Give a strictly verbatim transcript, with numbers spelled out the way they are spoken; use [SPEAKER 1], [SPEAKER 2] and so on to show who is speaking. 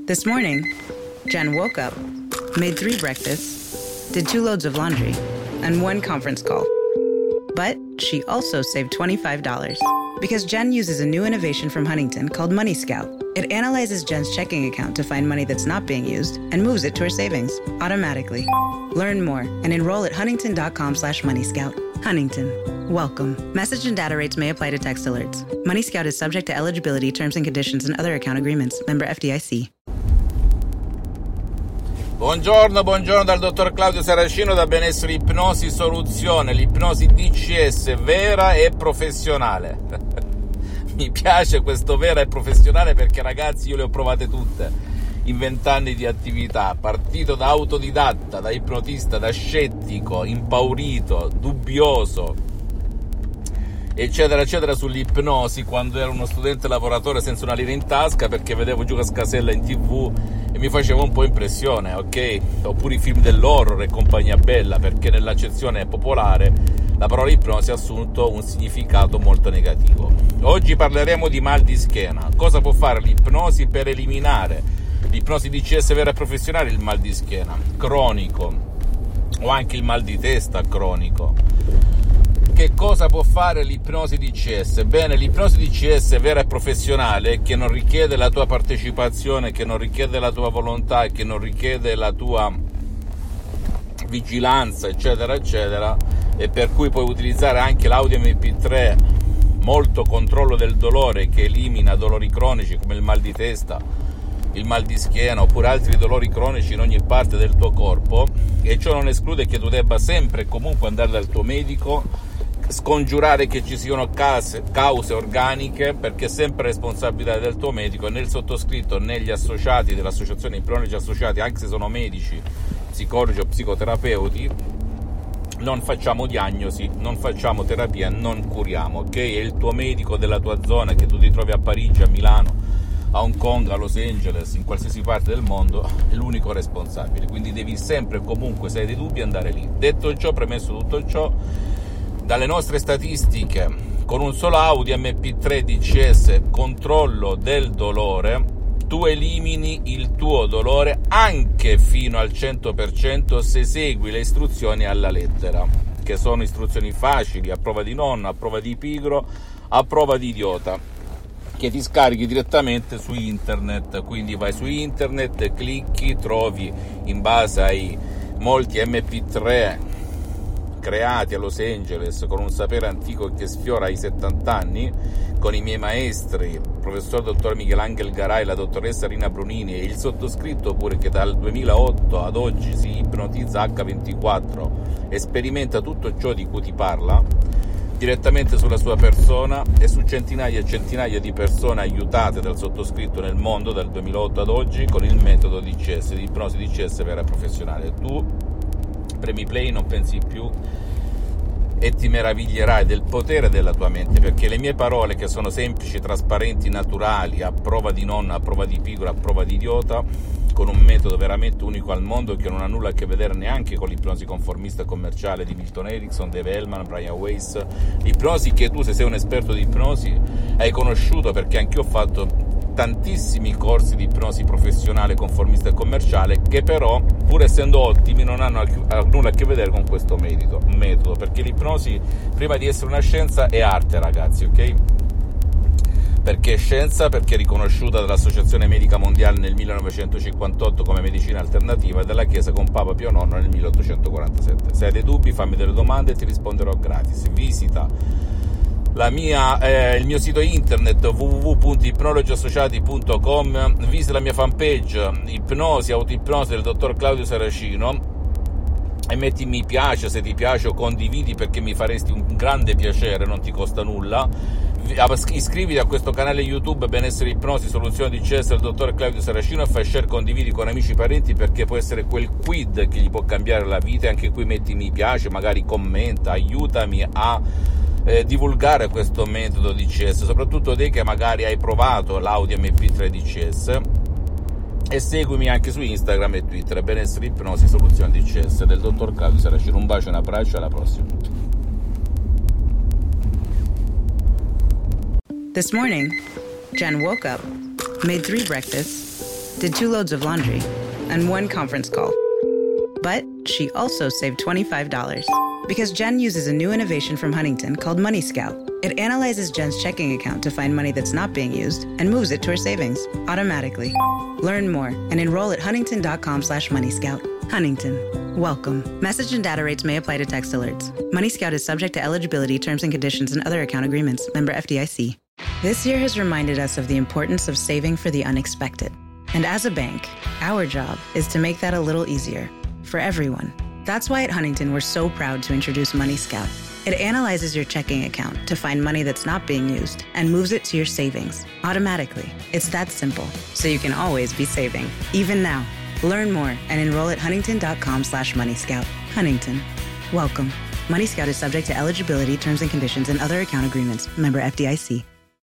[SPEAKER 1] This morning, Jen woke up, made three breakfasts, did two loads of laundry, and one conference call. But she also saved twenty-five dollars because Jen uses a new innovation from Huntington called Money Scout. It analyzes Jen's checking account to find money that's not being used and moves it to her savings automatically. Learn more and enroll at huntington.com slash money scout. Huntington. Welcome. Message and data rates may apply to text alerts. Money Scout is subject to eligibility, terms and conditions, and other account agreements. Member F D I C.
[SPEAKER 2] Buongiorno, buongiorno dal dottor Claudio Saracino da Benessere Ipnosi Soluzione, l'ipnosi D C S vera e professionale. Mi piace questo vera e professionale perché, ragazzi, io le ho provate tutte in vent'anni di attività, partito da autodidatta, da ipnotista, da scettico, impaurito, dubbioso, eccetera eccetera, sull'ipnosi quando ero uno studente lavoratore senza una lira in tasca perché vedevo Giuca Scasella in tv e mi faceva un po' impressione, ok? Oppure i film dell'horror e compagnia bella, perché nell'accezione popolare la parola ipnosi ha assunto un significato molto negativo. Oggi parleremo di mal di schiena. Cosa può fare l'ipnosi per eliminare l'ipnosi D C S vera e professionale, il mal di schiena cronico o anche il mal di testa cronico? Che cosa può fare l'ipnosi D C S? Bene, l'ipnosi D C S vera e professionale, che non richiede la tua partecipazione, che non richiede la tua volontà, che non richiede la tua vigilanza, eccetera, eccetera, e per cui puoi utilizzare anche l'audio M P tre, molto controllo del dolore, che elimina dolori cronici come il mal di testa, il mal di schiena oppure altri dolori cronici in ogni parte del tuo corpo, e ciò non esclude che tu debba sempre e comunque andare dal tuo medico, scongiurare che ci siano cause, cause organiche, perché è sempre responsabilità del tuo medico, e né il sottoscritto né gli associati dell'associazione ipnologi associati, anche se sono medici, psicologi o psicoterapeuti, non facciamo diagnosi, non facciamo terapia, non curiamo, ok? È il tuo medico della tua zona, che tu ti trovi a Parigi, a Milano, a Hong Kong, a Los Angeles, in qualsiasi parte del mondo, è l'unico responsabile, quindi devi sempre e comunque, se hai dei dubbi, andare lì. Detto ciò, premesso tutto ciò, dalle nostre statistiche, con un solo audio M P tre D C S controllo del dolore, tu elimini il tuo dolore anche fino al cento per cento se segui le istruzioni alla lettera, che sono istruzioni facili, a prova di nonno, a prova di pigro, a prova di idiota, che ti scarichi direttamente su internet. Quindi vai su internet, clicchi, trovi in base ai molti M P tre creati a Los Angeles con un sapere antico che sfiora i settanta anni, con i miei maestri, il professor dottor Michelangelo Garai e la dottoressa Rina Brunini, e il sottoscritto pure, che dal duemilaotto ad oggi si ipnotizza acca ventiquattro e sperimenta tutto ciò di cui ti parla direttamente sulla sua persona e su centinaia e centinaia di persone aiutate dal sottoscritto nel mondo dal duemilaotto ad oggi con il metodo D C S, di ipnosi D C S vera e professionale. Tu premi play, non pensi più e ti meraviglierai del potere della tua mente, perché le mie parole, che sono semplici, trasparenti, naturali, a prova di nonna, a prova di pigro, a prova di idiota, con un metodo veramente unico al mondo, che non ha nulla a che vedere neanche con l'ipnosi conformista e commerciale di Milton Erickson, Dave Hellman, Brian Weiss, l'ipnosi che tu, se sei un esperto di ipnosi, hai conosciuto, perché anch'io ho fatto tantissimi corsi di ipnosi professionale, conformista e commerciale, che però, pur essendo ottimi, non hanno nulla a che vedere con questo metodo, metodo perché l'ipnosi, prima di essere una scienza, è arte, ragazzi, ok? Perché è scienza, perché è riconosciuta dall'Associazione Medica Mondiale nel millenovecentocinquantotto come medicina alternativa e dalla Chiesa con Papa Pio nono nel milleottocentoquarantasette. Se hai dei dubbi, fammi delle domande e ti risponderò gratis. Visita la mia, eh, il mio sito internet w w w punto ipnologiassociati punto com, visita la mia fanpage Ipnosi, Autoipnosi del dottor Claudio Saracino e metti mi piace se ti piace, o condividi, perché mi faresti un grande piacere, non ti costa nulla. Iscriviti a questo canale YouTube Benessere Ipnosi Soluzione D C S del dottor Claudio Saracino e fai share, condividi con amici e parenti, perché può essere quel quid che gli può cambiare la vita. E anche qui metti mi piace, magari commenta, aiutami a eh, divulgare questo metodo D C S, soprattutto te che magari hai provato l'audio M P tre D C S. E seguimi anche su Instagram e Twitter, Benessere Ipnosi Soluzione D C S del dottor Claudio Saracino. Un bacio e un abbraccio, alla prossima.
[SPEAKER 1] This morning, Jen woke up, made three breakfasts, did two loads of laundry, and one conference call. But she also saved twenty-five dollars because Jen uses a new innovation from Huntington called Money Scout. It analyzes Jen's checking account to find money that's not being used and moves it to her savings automatically. Learn more and enroll at huntington.com slash Money Scout. Huntington. Welcome. Message and data rates may apply to text alerts. Money Scout is subject to eligibility, terms and conditions, and other account agreements. Member F D I C. This year has reminded us of the importance of saving for the unexpected. And as a bank, our job is to make that a little easier for everyone. That's why at Huntington, we're so proud to introduce Money Scout. It analyzes your checking account to find money that's not being used and moves it to your savings automatically. It's that simple, so you can always be saving, even now. Learn more and enroll at huntington.com slash Money Scout. Huntington. Welcome. Money Scout is subject to eligibility, terms and conditions, and other account agreements. Member F D I C.